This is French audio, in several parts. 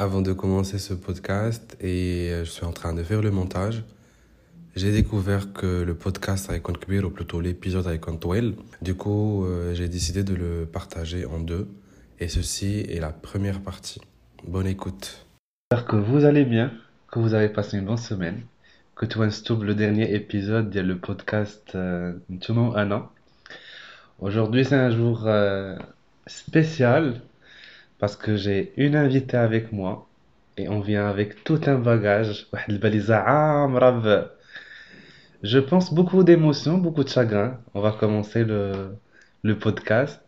avant de commencer ce podcast et je suis en train de faire le montage, j'ai découvert que le podcast avec Kbir, ou plutôt l'épisode avec Toel. Du coup, j'ai décidé de le partager en deux. Et ceci est la première partie. Bonne écoute. J'espère que vous allez bien, que vous avez passé une bonne semaine, que tu as le dernier épisode de le podcast Ntouma Anna. Aujourd'hui, c'est un jour spécial parce que j'ai une invitée avec moi et on vient avec tout un bagage. واحد الباليزة عامرة je pense beaucoup d'émotions, beaucoup de chagrin. On va commencer le podcast.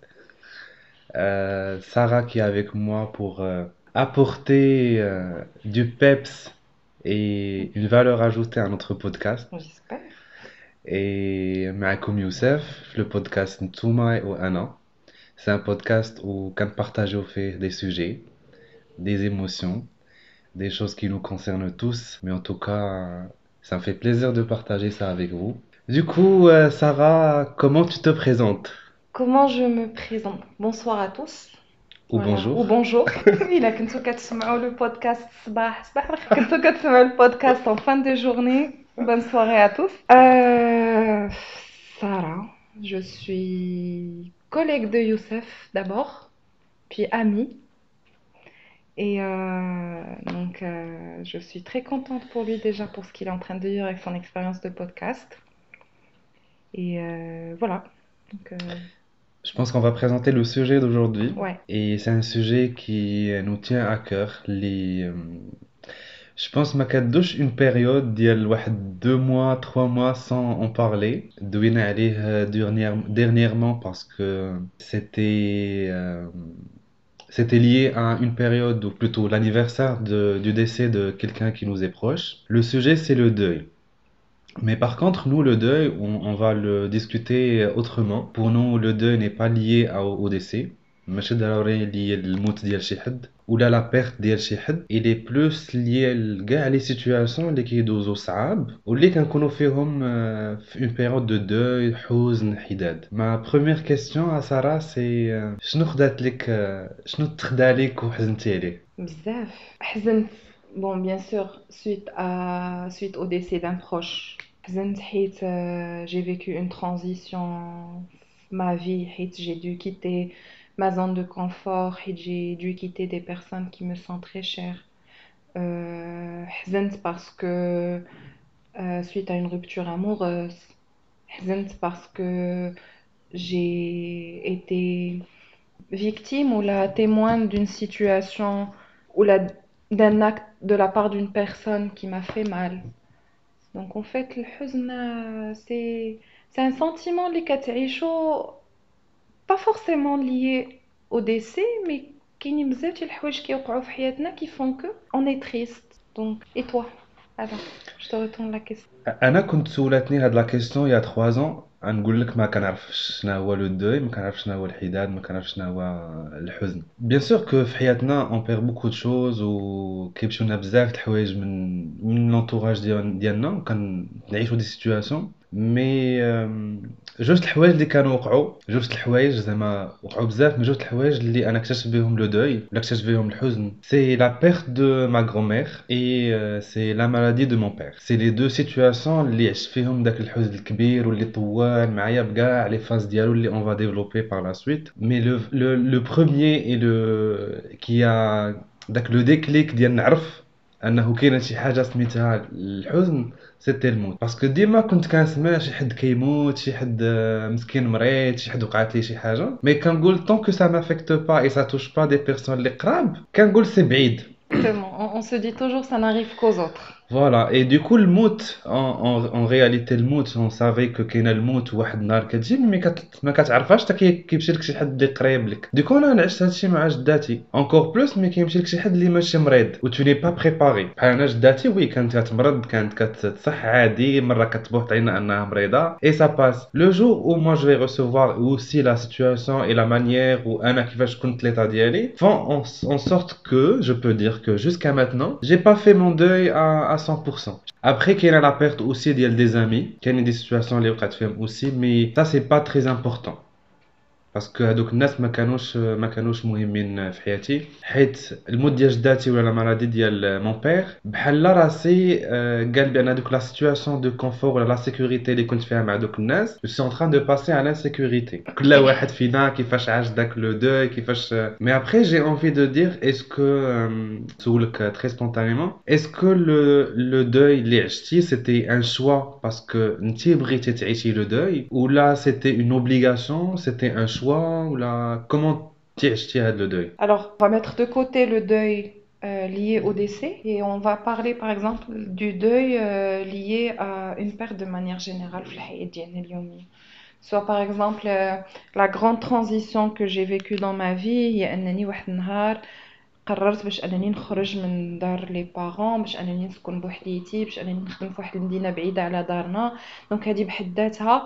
Sarah qui est avec moi pour apporter du peps et une valeur ajoutée à notre podcast. J'espère. Et معكم Youssef, le podcast Ntouma ou Anna. C'est un podcast où on partage fait des sujets, des émotions, des choses qui nous concernent tous. Mais en tout cas, ça me fait plaisir de partager ça avec vous. Du coup, Sarah, comment tu te présentes? Comment je me présente? Bonsoir à tous. Ou Voilà. bonjour. Ou bonjour. إلا كنتو كتسمعوا le podcast صباح الخير. كنتو كتسمعوا le podcast en fin de journée. Bonne soirée à tous. Sarah, je suis collègue de Youssef d'abord, puis amie. Et je suis très contente pour lui déjà pour ce qu'il est en train de vivre avec son expérience de podcast. Et voilà. Donc, Je pense qu'on va présenter le sujet d'aujourd'hui. ouais. Et c'est un sujet qui nous tient à cœur. Je pense ما كدوش une période ديال واحد 2 mois 3 mois sans en parler. دوينا عليه dernièrement parce que c'était lié à une période, ou plutôt l'anniversaire du décès de quelqu'un qui nous est proche. Le sujet, c'est le deuil. Mais par contre, nous, le deuil, on va le discuter autrement. Pour nous, le deuil n'est pas lié au décès. ماشي ضروري lié للموت ديال شي حد ولا la perte ديال شي حد. Il est plus lié لكاع les situations اللي كيدوزو صعاب واللي كنكونوا فيهم في une période de deuil, حزن, حداد. Ma première question à Sarah, c'est شنو خدات لك شنو تخدى لك وحزنتي عليه؟ بزاف حزنت. Bon, bien sûr, suite au décès d'un proche. حزنت حيت j'ai vécu une transition ma vie حيت j'ai dû quitter ma zone de confort حيت j'ai dû quitter des personnes qui me sont très chères. حزنت parce que suite à une rupture amoureuse. حزنت parce que j'ai été victime ou la témoin d'une situation ou d'un acte de la part d'une personne qui m'a fait mal. Donc en fait, le huzn, c'est un sentiment اللي كتعيشو pas forcément lié au décès, mais كاينين بزاف ديال الحوايج كيوقعوا في حياتنا qui font que on est triste. Donc, et toi? Alors, je te retourne la question. انا كنت سولتني هاد لا كيسيون يا 3 ans غنقول لك ما كنعرفش شنو هو لو دوي ما كنعرفش شنو هو الحداد ما كنعرفش شنو هو الحزن بيان سور كو في حياتنا اون بير بوكو دو شوز وكيمشيو لنا بزاف د الحوايج من لونطوراج ديالنا وكنعيشوا دي سيتوياسيون مي جوج الحوايج اللي كانوا وقعوا جوج الحوايج زعما وقعوا بزاف من جوج الحوايج اللي انا اكتشفت بهم لو دوي ولا اكتشفت بهم الحزن سي لا بيرت دو ما غرومير اي سي لا مالادي دو مون بير سي لي دو سيتوياسيون اللي عشت فيهم داك الحزن الكبير واللي طوال معايا بكاع لي فاز ديالو اللي اون فا ديفلوبي بار لا سويت مي لو بروميير اي لو كي داك لو ديكليك ديال نعرف انه كاينه شي حاجه سميتها الحزن سيتي الموت باسكو ديما كنت كنسمع شي حد كيموت شي حد مسكين مريض شي حد وقعت ليه شي حاجه مي كنقول طون كو سا مافيكت با اي سا توش با دي بيرسون اللي قراب كنقول سي بعيد. Exactement. On se dit toujours ça n'arrive qu'aux autres. Voilà, et du coup, le mout, en réalité, le mout, on savait que كاين الموت واحد النهار كتجي مي ما كتعرفهاش حتى كيمشي لك شي حد اللي قريب لك. ديكو انا عشت هادشي مع جداتي انكور بلوس مي كيمشي لك شي حد اللي ماشي مريض و تو ني با بريباري بحال انا جداتي وي كانت كتمرض كانت كتصح عادي مره كتبوح علينا انها مريضه اي سا باس لو جور او موا جو في ريسيفوار اوسي لا سيتوياسيون اي لا مانيير و انا كيفاش كنت ليطا ديالي فون en sorte que je peux dire que jusqu'à maintenant j'ai pas fait mon deuil à 100%. Après qu'il y a la perte aussi des amis qu'il y a des situations اللي وقعت فيهم aussi mais ça c'est pas très important. باسكو هادوك الناس ما كانوش مهمين في حياتي، حيت الموت ديال جداتي ولا لا مالادي ديال مون بير بحال راسي قال بان هادوك لا سيتوياسيون دو كونفور ولا لا سيكوريتي اللي كنت فيها مع دوك الناس جو سي ان تران دو باسي على انسيكوريتي. كل واحد فينا كيفاش عاش داك لو دوي كيفاش. مي ابري جي انفي دو دير اسكو سولك تري سبونتانيمون اسكو لو دوي اللي عشتي سيتي ان شوا باسكو انتي بغيتي تعيشي لو دوي ولا سيتي اون اوبليغاسيون سيتي ان شوا ولا كومون تي عشتي هاد لو دوي. Alors, on va mettre de côté le deuil lié au décès et on va parler par exemple du deuil lié à une perte de manière générale في الحياة ديالنا اليومية. Soit par exemple la grande transition que j'ai vécue dans ma vie هي أنني واحد النهار قررت باش أنني نخرج من دار لي بارون باش أنني نسكن بوحديتي باش أنني نخدم في واحد المدينة بعيدة على دارنا. دونك هذه بحد ذاتها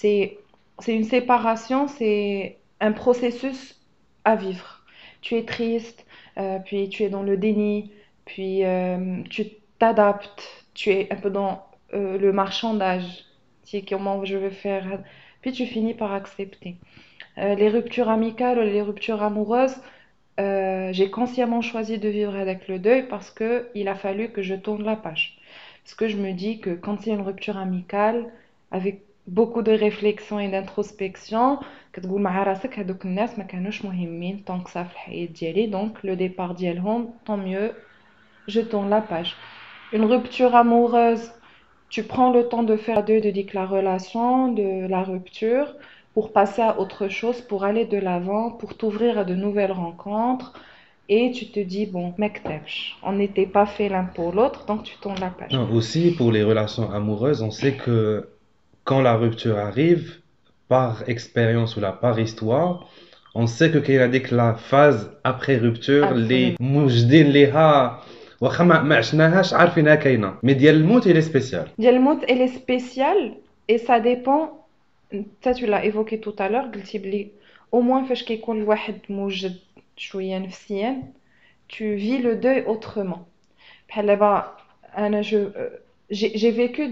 c'est une séparation, c'est un processus à vivre. Tu es triste, puis tu es dans le déni, puis tu t'adaptes, tu es un peu dans le marchandage. Tu sais comment je vais faire. Puis tu finis par accepter. Les ruptures amicales, les ruptures amoureuses, j'ai consciemment choisi de vivre avec le deuil parce qu'il a fallu que je tourne la page. Parce que je me dis que quand il y a une rupture amicale, avec beaucoup de réflexion et d'introspection, كتقول مع راسك هذوك الناس ما كانوش مهمين tant que ça في الحياة ديالي, donc le départ ديالهم tant mieux, je tourne la page. Une rupture amoureuse, tu prends le temps de faire deuil de la relation, de la rupture, pour passer à autre chose, pour aller de l'avant, pour t'ouvrir à de nouvelles rencontres. Et tu te dis, bon, mektebch, on n'était pas fait l'un pour l'autre, donc tu tournes la page. Non, aussi pour les relations amoureuses, on sait que quand la rupture arrive, par expérience ou là, par histoire, on sait que qu'il y a des la phase après rupture, les Absolument. موجدين ليها واخا ما عشناهاش عارفينها كاينه، مي ديال الموت il est spécial. ديال الموت elle est spéciale et ça dépend. Ça tu l'as évoqué tout à l'heure, قلتي بلي au moins فاش كيكون الواحد موجد شويه نفسيا tu vis le deuil autrement. بحال دابا انا j'ai vécu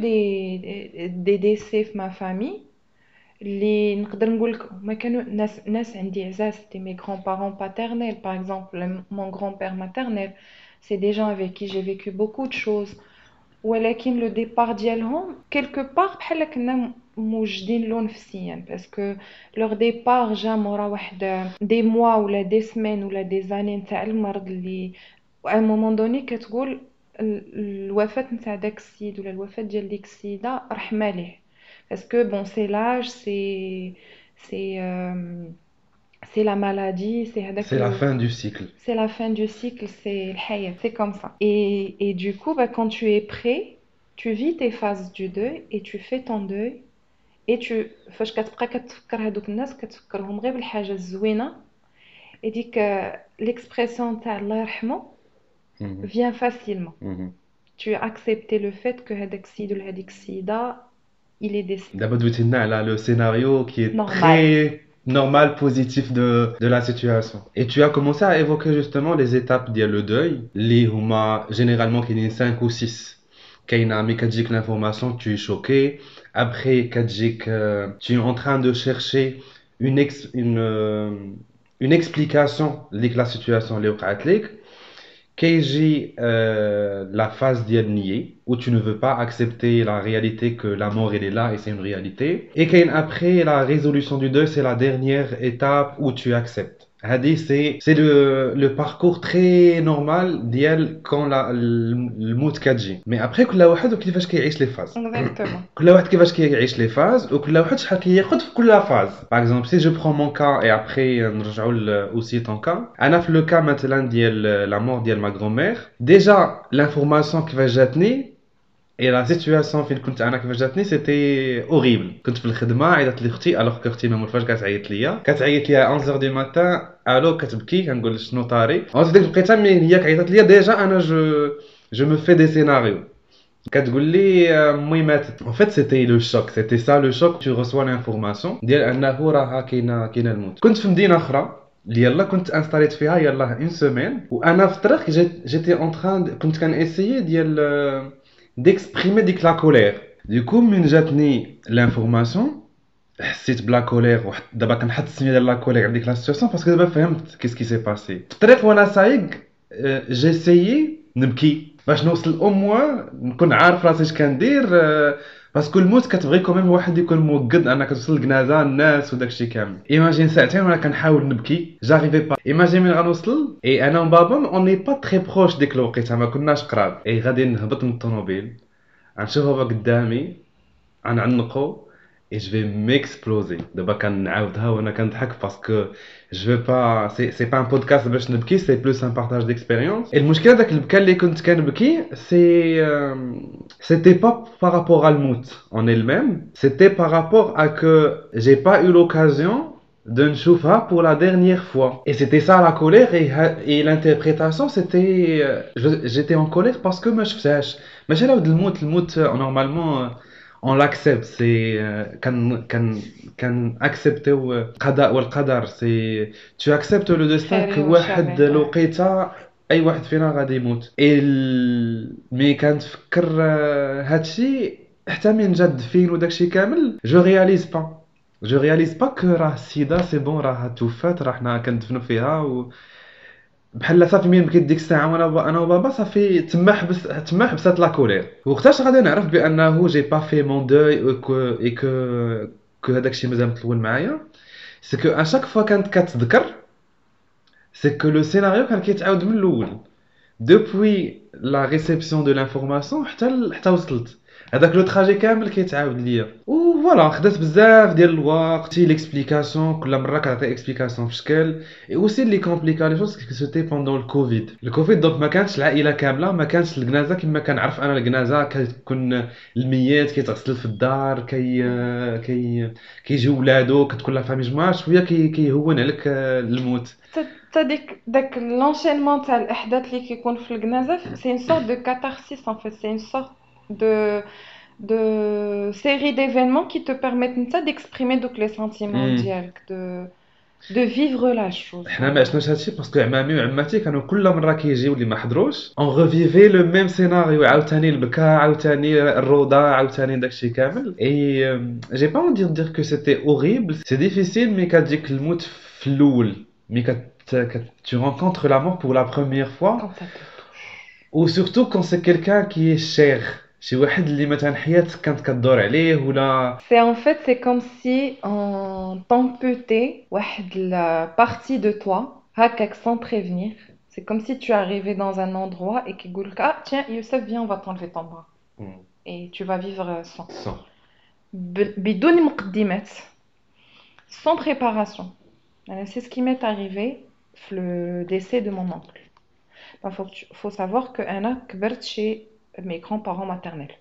des décès في ma famille اللي نقدر نقول لك ما كانوا ناس عندي عزاز. c'était mes grands-parents paternels par exemple, mon grand-père maternel, c'est des gens avec qui j'ai vécu beaucoup de choses. ولكن لو ديبار ديالهم كيلكو بار بحال كنا موجدين له نفسيا باسكو لور ديبار جا مورا واحد دي موا ولا دي سمين ولا دي زاني نتاع المرض اللي ا مومون دوني كتقول الوفاه نتاع داك السيد ولا الوفاه ديال ديك السيده رحمه ليه باسكو بون سي لاج c'est la maladie, c'est هذاك C'est la fin du cycle. c'est la fin du cycle, c'est الحياة, c'est comme ça. Et du coup, bah, quand tu es prêt, tu vis tes phases du deuil et tu fais ton deuil. Et فاش كتبقى كتفكر هادوك الناس كتفكرهم غير بالحاجة الزوينة. Et ديك l'expression تاع الله يرحمه Mhm, vient facilement. mhm. Tu as accepté le fait que هذاك السيد ولا هذيك السيدة il est décédé. D'abord دويتي لنا على le scénario qui est Normal. très normal, positif de la situation. Et tu as commencé à évoquer justement les étapes ديال le deuil اللي هما généralement كاينين 5 ou 6. كاينه ملي كتجيك l'information tu es choqué, après كتجيك tu es en train de chercher une explication لديك la situation اللي وقعت لك. كيجي la phase ديال nier où tu ne veux pas accepter la réalité que la mort elle est là et c'est une réalité. Et كاين après la résolution du deuil, c'est la dernière étape où tu acceptes. هذه c'est le parcours très normal ديال quand الموت كتجي. Mais après كل واحد وكيفاش كيعيش les phases. Exactement. كل واحد كيفاش كيعيش les phases وكل واحد شحال كياخد في كل phase. Par exemple, si je prends mon cas et après نرجعوا aussi ton cas. أنا في le cas مثلا ديال la mort ديال ma grand-mère. Déjà l'information كيفاش جاتني et la situation فين كنت انا كيفاش جاتني سيتي اوريبل. كنت في الخدمه عيطت لي اختي الوغ كو اختي ما مولفاش كتعيط ليا 11 دو ماتان الو كتبكي كنقول شنو طاري اون ديك بقيتها مي هي كعيطت ليا ديجا انا جو me fais des scénarios كتقول لي امي ماتت. en fait c'était le choc, c'était ça le choc. tu reçois l'information ديال انه راه كاينه الموت. كنت في مدينه اخرى اللي يلا كنت انستاليت فيها يلا اون سيمين وانا في الطريق جيتي اون تران كنت كنسيي ديال d'exprimer ديك لا كولير. Du coup من جاتني l'information حسيت بلا كولير دابا كنحط السميه ديال لا كولير على ديك لا سيتوياسيون باسكو دابا فهمت كيس كي سي باسي في الطريق وانا سايق جيسيي نبكي باش نوصل او موان نكون عارف راسي اش كندير باسكو الموت كتبغي كوميم الواحد يكون موقد انك توصل لكنازه الناس وداكشي كامل ايماجين ساعتين وانا كنحاول نبكي جاريفي با ايماجين من غنوصل اي انا وبابا اوني با تري بروش ديك الوقيته ما كناش قراب اي غادي نهبط من الطوموبيل غنشوف بابا قدامي غنعنقو et je vais m'exploser. D'abord quand نعاودها وانا كنضحك parce que je veux pas c'est pas un podcast باش نبكي c'est plus un partage d'expérience. Et المشكله داك البكا اللي كنت كنبكي c'était pas par rapport à الموت en elle-même, c'était par rapport à que j'ai pas eu l'occasion de نشوفها pour la dernière fois. Et c'était ça la colère et l'interprétation c'était j'étais en colère parce que ما شفتهاش. ماشي على ود الموت normalement on l'accepte c'est كان accepter القضاء والقدر c'est tu acceptes le destin que واحد الوقيته اي واحد فينا غادي يموت مي كنتفكر هادشي حتى من جا الدفين وداكشي كامل جو رياليز با كو راه السيده سي بون راه توفات راه حنا كندفنوا فيها بحال صافي مين بكيت ديك الساعه وانا انا وبابا صافي تما حبسات لا كولير وقتاش غادي نعرف بانه جي با في مون دوي اي كو هذاك الشيء مازال مطول معايا سي كو ا شاك فوا كانت كتذكر سي كو لو سيناريو كان كيتعاود من الاول دوبوي لا ريسيبسيون دو لانفورماسيون حتى وصلت هذاك لو تراجي كامل كيتعاود ليا وفوالا خدات بزاف ديال الوقت ليكسبليكاسيون كل مره كتعطي اكسبليكاسيون في شكل اي اوسي اللي كومبليكا لي شوز كي سيتي بوندون الكوفيد دونك ما كانش العائله كامله ما كانش الجنازه كما كنعرف انا الجنازه كتكون الميت كيتغسل في الدار كيجيو ولادو كتكون لا فامي جماعه شويه كيهون عليك الموت داك l'enchaînement تاع الاحداث اللي كيكون في الجنازه c'est une sorte de catharsis en fait c'est une sorte de série d'événements qui te permettent d'exprimer donc les sentiments ديالك de vivre la chose. حنا ما عشناش هادشي باسكو عمامي وعماتي كانوا كل مره كيجيو اللي ما حضروش اون ريفيفي لو ميم سيناريو عاوتاني البكا عاوتاني الروضه عاوتاني داكشي كامل اي جي با اون دير كو سيتي اوريبل سي ديفيسيل مي كتجيك الموت في الاول مي tu rencontres la mort pour la première fois ou surtout quand c'est quelqu'un qui est cher شي واحد اللي مثلا حياتك كانت كدور عليه ولا c'est comme si on t'amputait واحد la partie de toi هكاك sans prévenir c'est comme si tu arrivais dans un endroit et qu'il dit ah tiens Youssef viens on va t'enlever ton bras et tu vas vivre sans بدون مقدمات sans préparation. C'est ce qui m'est arrivé le décès de mon oncle. Il faut savoir que Anna كبرت chez mes grands-parents maternels.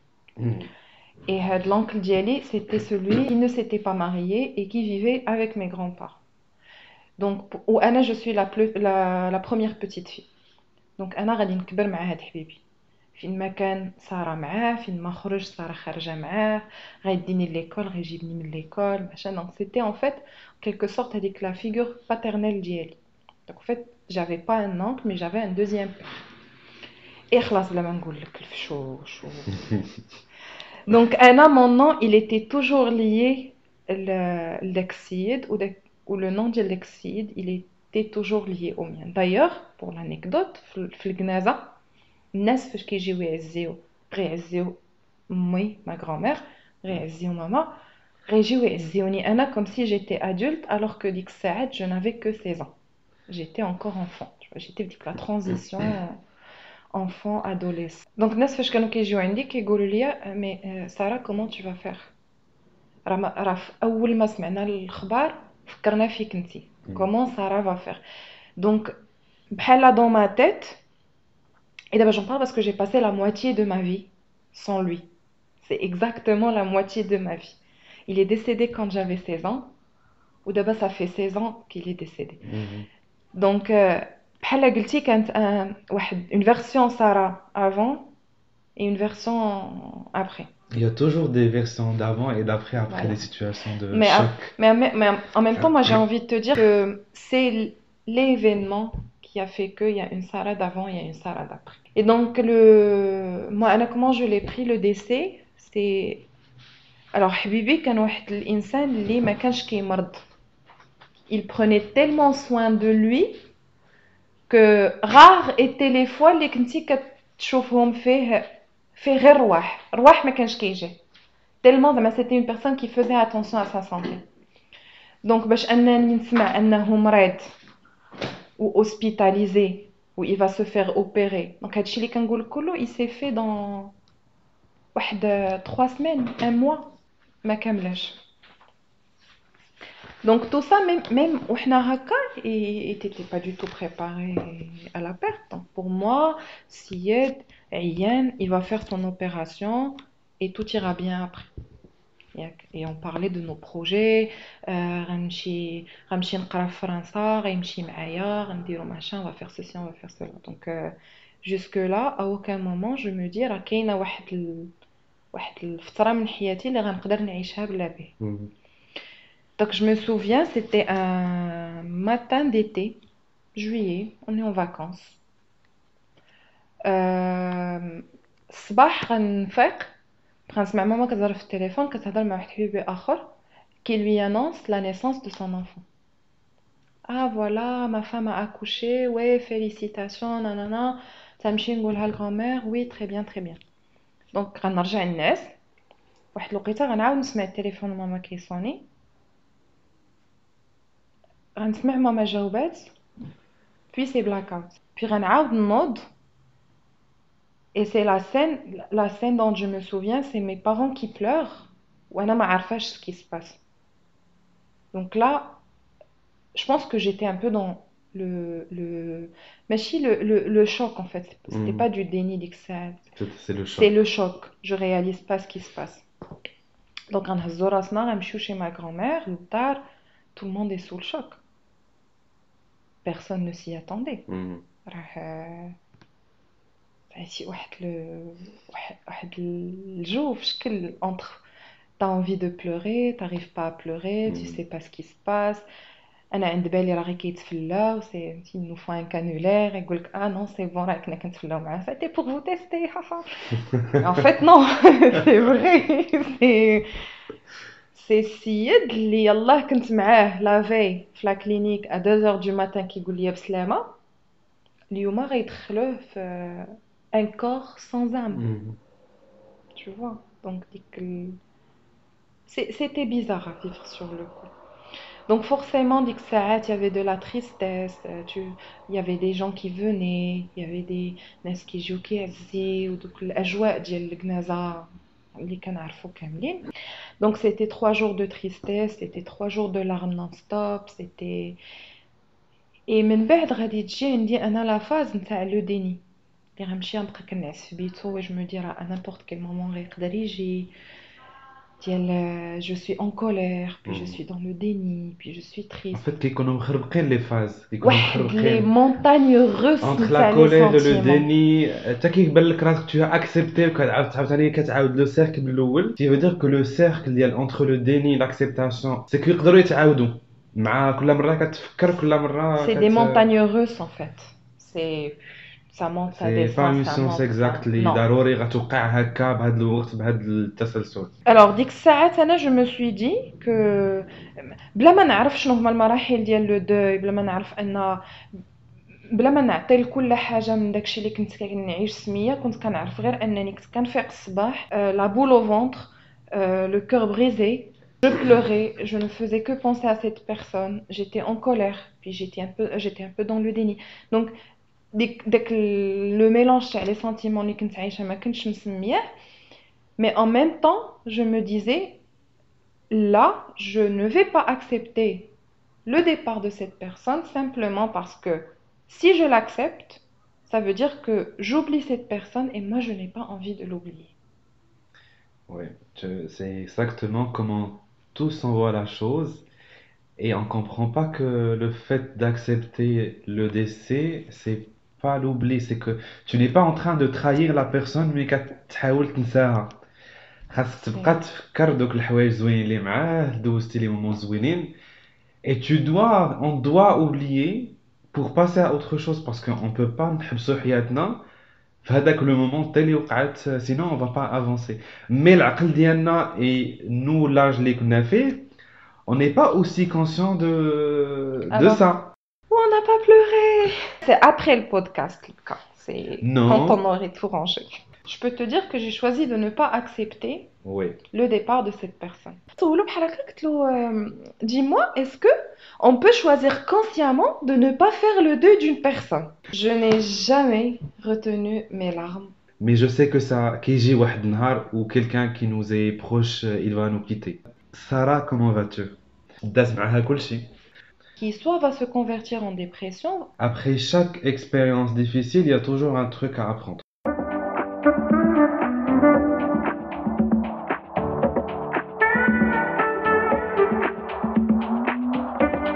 Et l'oncle Diali, c'était celui qui ne s'était pas marié et qui vivait avec mes grands-parents. Donc, Anna, je suis la première petite fille. Donc, Anna, غادي نكبر مع هاد حبيبي. فين ما كان سارة معاه فين ما خرج سارة خارجة معاه غيديني ليكول غيجيبني من ليكول machin. Donc, c'était en fait en quelque sorte هذيك la figure paternelle ديالي. Donc, en fait, j'avais pas un oncle, mais j'avais un deuxième père. Et خلاص بلا ما نقول لك الفشوش Donc, Anna, mon nom, il était toujours lié l'exide ou le nom de l'exide, il était toujours lié au mien. D'ailleurs, pour l'anecdote, في الجنازة الناس فاش كيجيو يعزيو غيعزيو امي ما grand-mère غيعزيو ماما غيجيو يعزيوني انا comme si j'étais adulte alors que ديك الساعات je n'avais que 16 ans. J'étais encore enfant. J'étais ديك la transition enfant adolescent. Donc الناس فاش كانوا كيجيو عندي كيقولوا لي mais Sarah comment tu vas faire راه اول ما سمعنا الخبر فكرنا فيك انتي comment Sarah va faire. Donc بحال dans ma tête. Et d'abord j'en parle parce que j'ai passé la moitié de ma vie sans lui. C'est exactement la moitié de ma vie. Il est décédé quand j'avais 16 ans. Ou d'abord ça fait 16 ans qu'il est décédé. Donc, بحال قلتي كانت une version Sarah avant et une version après. Il y a toujours des versions d'avant et d'après après des situations de choc. Mais en même temps, moi j'ai envie de te dire que c'est l'événement qui a fait qu'il y a une Sarah d'avant, il y a une Sarah d'après. Et donc, moi, Anna, comment je l'ai pris le décès, c'est Alors حبيبي كان واحد الانسان اللي ما كانش كيمرض. Il prenait tellement soin de lui que rares étaient les fois اللي كنتي كتشوفهم فيه غير رواح ما كانش كيجي. Tellement زعما c'était une personne qui faisait attention à sa santé. Donc باش انني نسمع انه مريض ou hospitalisé ou il va se faire opérer. Donc هادشي اللي كنقول كله il s'est fait dans واحد 3 semaines, un mois ما كاملاش. Donc tout ça même وحنا هكا il était pas du tout préparé à la perte. Donc pour moi Syed Ayyan il va faire son opération et tout ira bien après. Et on parlait de nos projets غنمشي نقرا في فرنسا غيمشي معايا غنديرو machin on va faire ceci on va faire cela. Donc jusque là à aucun moment je me dis راه كاينه واحد الفتره من حياتي اللي غنقدر نعيشها بلا به. Donc je me souviens c'était un matin d'été juillet on est en vacances الصباح غنفيق غنسمع ماما كتهضر في التليفون كتهضر مع واحد حبيبي اخر qui lui annonce la naissance de son enfant. Ah voilà, ma femme a accouché, ouais, félicitations, nanana. تمشي نقولها للغرامير, oui, très bien, très bien. Donc غنرجع للناس واحد الوقيته غنعاود نسمع التليفون ماما كيصوني غنسمع ماما جاوبات puis c'est blackout puis غنعاود نوض. Et c'est la scène dont je me souviens, c'est mes parents qui pleurent وانا ما عارفاش ce qui se passe. Donc là je pense que j'étais un peu dans le choc en fait. C'était pas du déni d'excès. C'est le choc. C'est le choc. Je réalise pas ce qui se passe. Donc غنهزو راسنا غنمشيو chez ma grand-mère للدار. Tout le monde est sous le choc. Personne ne s'y attendait. راه عرفتي واحد الجو في شكل entre t'as envie de pleurer, t'arrives pas à pleurer, tu sais pas ce qui se passe. انا عند بالي راه غير كيتفلاو سي il nous faut un cannulaire يقول لك non c'est bon راه كنا كنتفلاو معاه c'était pour vous tester haha. En fait non c'est vrai c'est سيد اللي يلاه كنت معاه لا في لا كلينيك à 2h du matin كيقول لي بسلامه اليوم غيدخلوه في un corps sans âme. Tu vois donc c'était bizarre à vivre sur le coup. Donc forcément, ديك الساعات il y avait de la tristesse, il y avait des gens qui venaient, il y avait des ناس كيجيو كيعزيو ودوك الأجواء ديال الجنازة اللي كنعرفو كاملين. Donc c'était 3 jours de tristesse, c'était 3 jours de larmes non-stop, c'était et من بعد غادي تجي عندي أنا لا فاز نتاع لو ديني اللي غنمشي نبقى كنعس في بيتو و جو مو دي راه à n'importe quel moment غيقدر يجي je suis en colère, puis je suis dans le déni, puis je suis triste. En fait, كيكونوا مخربقين les phases. Les montagnes russes entre la colère et le déni. حتى كيبان لك راسك tu as accepté وكتعاود ثاني كتعاود لو سيركل الاول. qui veut dire que le cercle ديال entre le déni et l'acceptation c'est كيقدروا يتعاودوا مع كل مره كتفكر كل مره. C'est des montagnes russes en fait. Ça monte, ça descend, ça monte. C'est pas une science exacte اللي ضروري غتوقع هكا بهذا الوقت بهذا التسلسل. Alors ديك الساعات انا je me suis dit que بلا ما نعرف شنو هما المراحل ديال لو دوي بلا ما نعرف ان بلا ما نعطي لكل حاجه من داكشي اللي كنت كنعيش سميه كنت كنعرف غير انني كنت كنفيق الصباح لا بول au ventre le cœur brisé. Je pleurais, je ne faisais que penser à cette personne, j'étais en colère, puis j'étais un peu dans le déni. Donc داك le mélange تاع les sentiments اللي كنت عايشه ما كنتش مسمياه. Mais en même temps, je me disais là, je ne vais pas accepter le départ de cette personne simplement parce que si je l'accepte, ça veut dire que j'oublie cette personne et moi je n'ai pas envie de l'oublier. Oui, c'est exactement comment tous on voit la chose et on comprend pas que le fait d'accepter le décès, c'est pas l'oubli, c'est que tu n'es pas en train de trahir la personne mais كتحاول تنساها. خاصك تبقى تفكر دوك الحوايج زوينين اللي معاه دوزتي لي مومون زوينين et on doit oublier pour passer à autre chose parce qu'on peut pas نحبسوا حياتنا في هذاك le moment tel اللي وقعت sinon on va pas avancer. Mais العقل ديالنا et nous l'âge اللي كنا فيه on n'est pas aussi conscient de Alors, ça. on n'a pas pleuré. C'est après le podcast, le cas. C'est quand on Non. aurait tout rangé. Je peux te dire que j'ai choisi de ne pas accepter Oui. le départ de cette personne. سولو بحال هكا قلت له dis-moi, est-ce que on peut choisir consciemment de ne pas faire le deuil d'une personne? Je n'ai jamais retenu mes larmes. Mais je sais que ça كيجي واحد النهار où quelqu'un qui nous est proche il va nous quitter. Sarah, comment vas-tu? داز معاها كلشي. Qui soit va se convertir en dépression, Après chaque expérience difficile, il y a toujours un truc à apprendre.